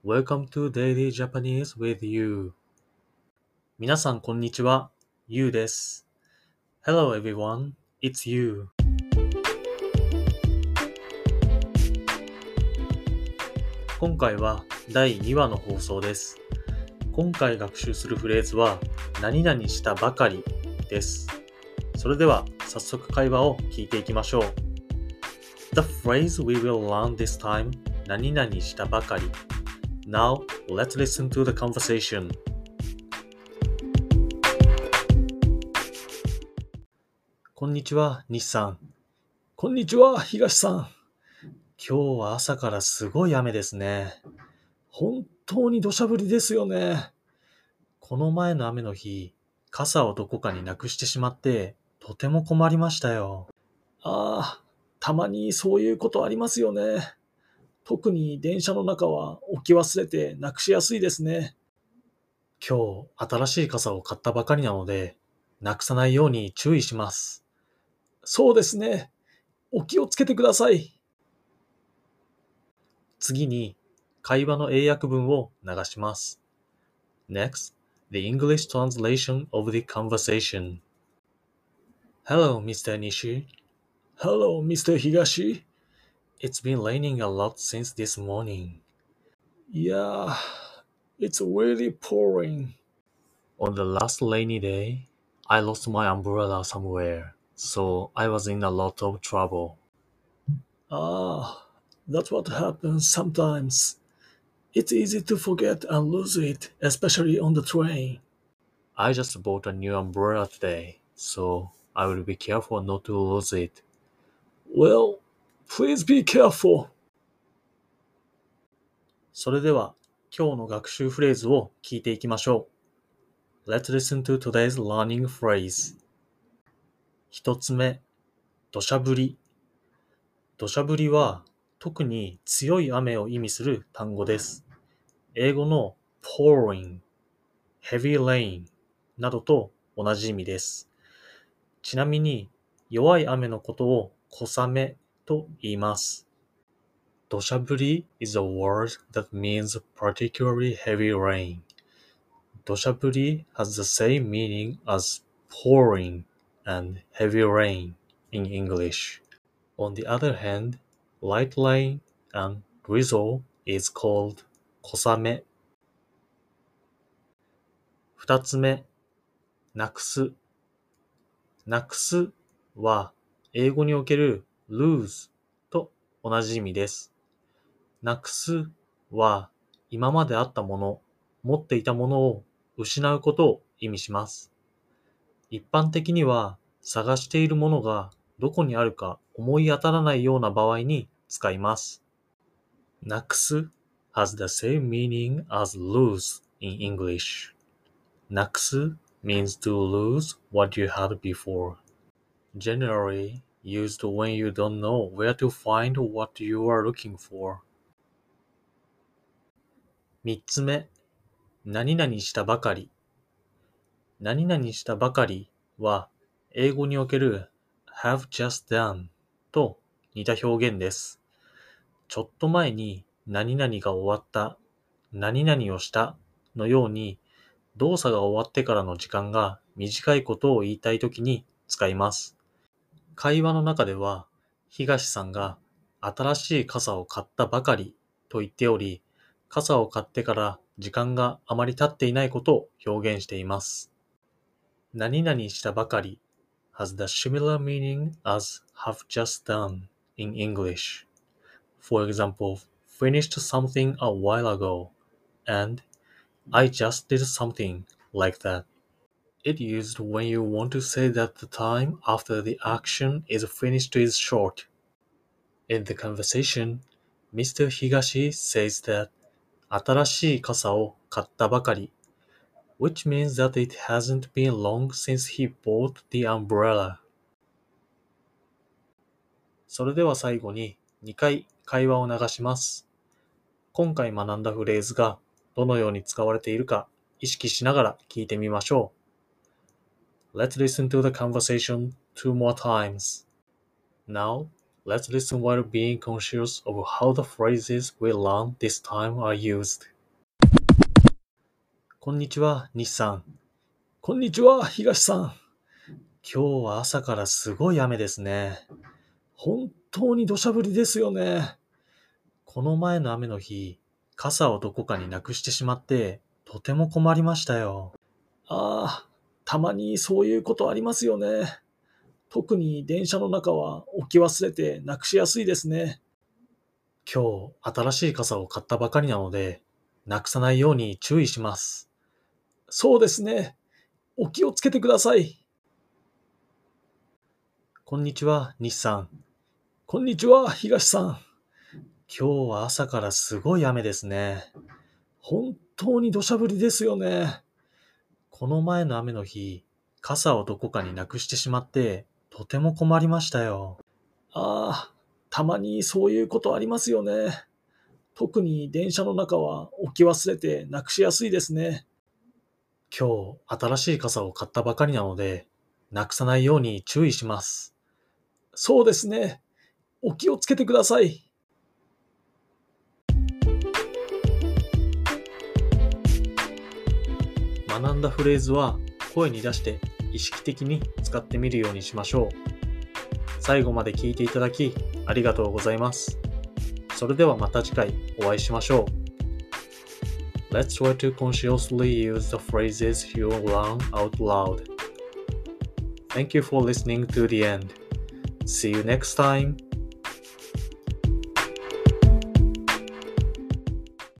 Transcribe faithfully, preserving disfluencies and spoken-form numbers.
Welcome to Daily Japanese with You. 皆さんこんにちは、You です。Hello everyone, it's You. 今回はだいにわの放送です。今回学習するフレーズは何々したばかりです。それでは早速会話を聞いていきましょう。The phrase we will learn this time 何々したばかり。Now, let's listen to the conversation. こんにちは、西さん。 こんにちは、東さん。 今日は朝からすごい雨ですね。 本当に土砂降りですよね。 この前の雨の日、傘をどこかになくしてしまって、とても困りましたよ。 ああ、たまにそういうことありますよね。特に電車の中は置き忘れてなくしやすいですね。 今日、新しい傘を買ったばかりなので、なくさないように注意します。 そうですね。お気をつけてください。 次に、会話の英訳文を流します。Next, the English translation of the conversation. Hello, Mister Nishi. Hello, Mister Higashi. It's been raining a lot since this morning. Yeah, it's really pouring. On the last rainy day, I lost my umbrella somewhere, so I was in a lot of trouble. Ah, that's what happens sometimes. It's easy to forget and lose it, especially on the train. I just bought a new umbrella today, so I will be careful not to lose it. Well, please be careful. それでは、今日の学習フレーズを聞いていきましょう。Let's listen to today's learning phrase. 一つ目、土砂降り。土砂降りは特に強い雨を意味する単語です。英語の pouring、heavy rain などと同じ意味です。ちなみに弱い雨のことを小雨と言います。土砂降り is a word that means particularly heavy rain. 土砂降り has the same meaning as pouring and heavy rain in English. On the other hand, light rain and drizzle is called 小雨。二つ目、なくす。なくすは英語における lose と同じ意味です。なくすは今まであったもの、持っていたものを失うことを意味します。一般的には探しているものがどこにあるか思い当たらないような場合に使います。なくす has the same meaning as lose in English. なくす means to lose what you had before. Generally used when you don't know where to find what you are looking for. 三つ目、何々したばかり。何々したばかりは英語における have just done と似た表現です。ちょっと前に何々が終わった、何々をしたのように動作が終わってからの時間が短いことを言いたいときに使います。会話の中では東さんが新しい傘を買ったばかりと言っており、傘を買ってから時間があまり経っていないことを表現しています。何々したばかり has the similar meaning as have just done in English. For example, finished something a while ago and I just did something like that. It used when you want to say that the time after the action is finished is short. In the conversation, Mister Higashi says that 新しい傘を買ったばかり which means that it hasn't been long since he bought the umbrella. それでは最後ににかい会話を流します。今回学んだフレーズがどのように使われているか意識しながら聞いてみましょう。Let's listen to the conversation two more times. Now, let's listen while being conscious of how the phrases we learned this time are used. こんにちは、西さん。 こんにちは、東さん。 今日は朝からすごい雨ですね。 本当に土砂降りですよね。 この前の雨の日、傘をどこかになくしてしまって、とても困りましたよ。 ああ、たまにそういうことありますよね。特に電車の中は置き忘れてなくしやすいですね。 今日、新しい傘を買ったばかりなので、なくさないように注意します。 そうですね。お気をつけてください。 こんにちは、西さん。 こんにちは、東さん。 今日は朝からすごい雨ですね。 本当に土砂降りですよね。 この前の雨の日、傘をどこかになくしてしまって、とても困りましたよ。 ああ、たまにそういうことありますよね。特に電車の中は置き忘れてなくしやすいですね。 今日、新しい傘を買ったばかりなので、なくさないように注意します。 そうですね。お気をつけてください。 学んだフレーズは声に出して意識的に使ってみるようにしましょう。最後まで聞いていただきありがとうございます。それではまた次回お会いしましょう。Let's try to consciously use the phrases you learn out loud. Thank you for listening to the end. See you next time.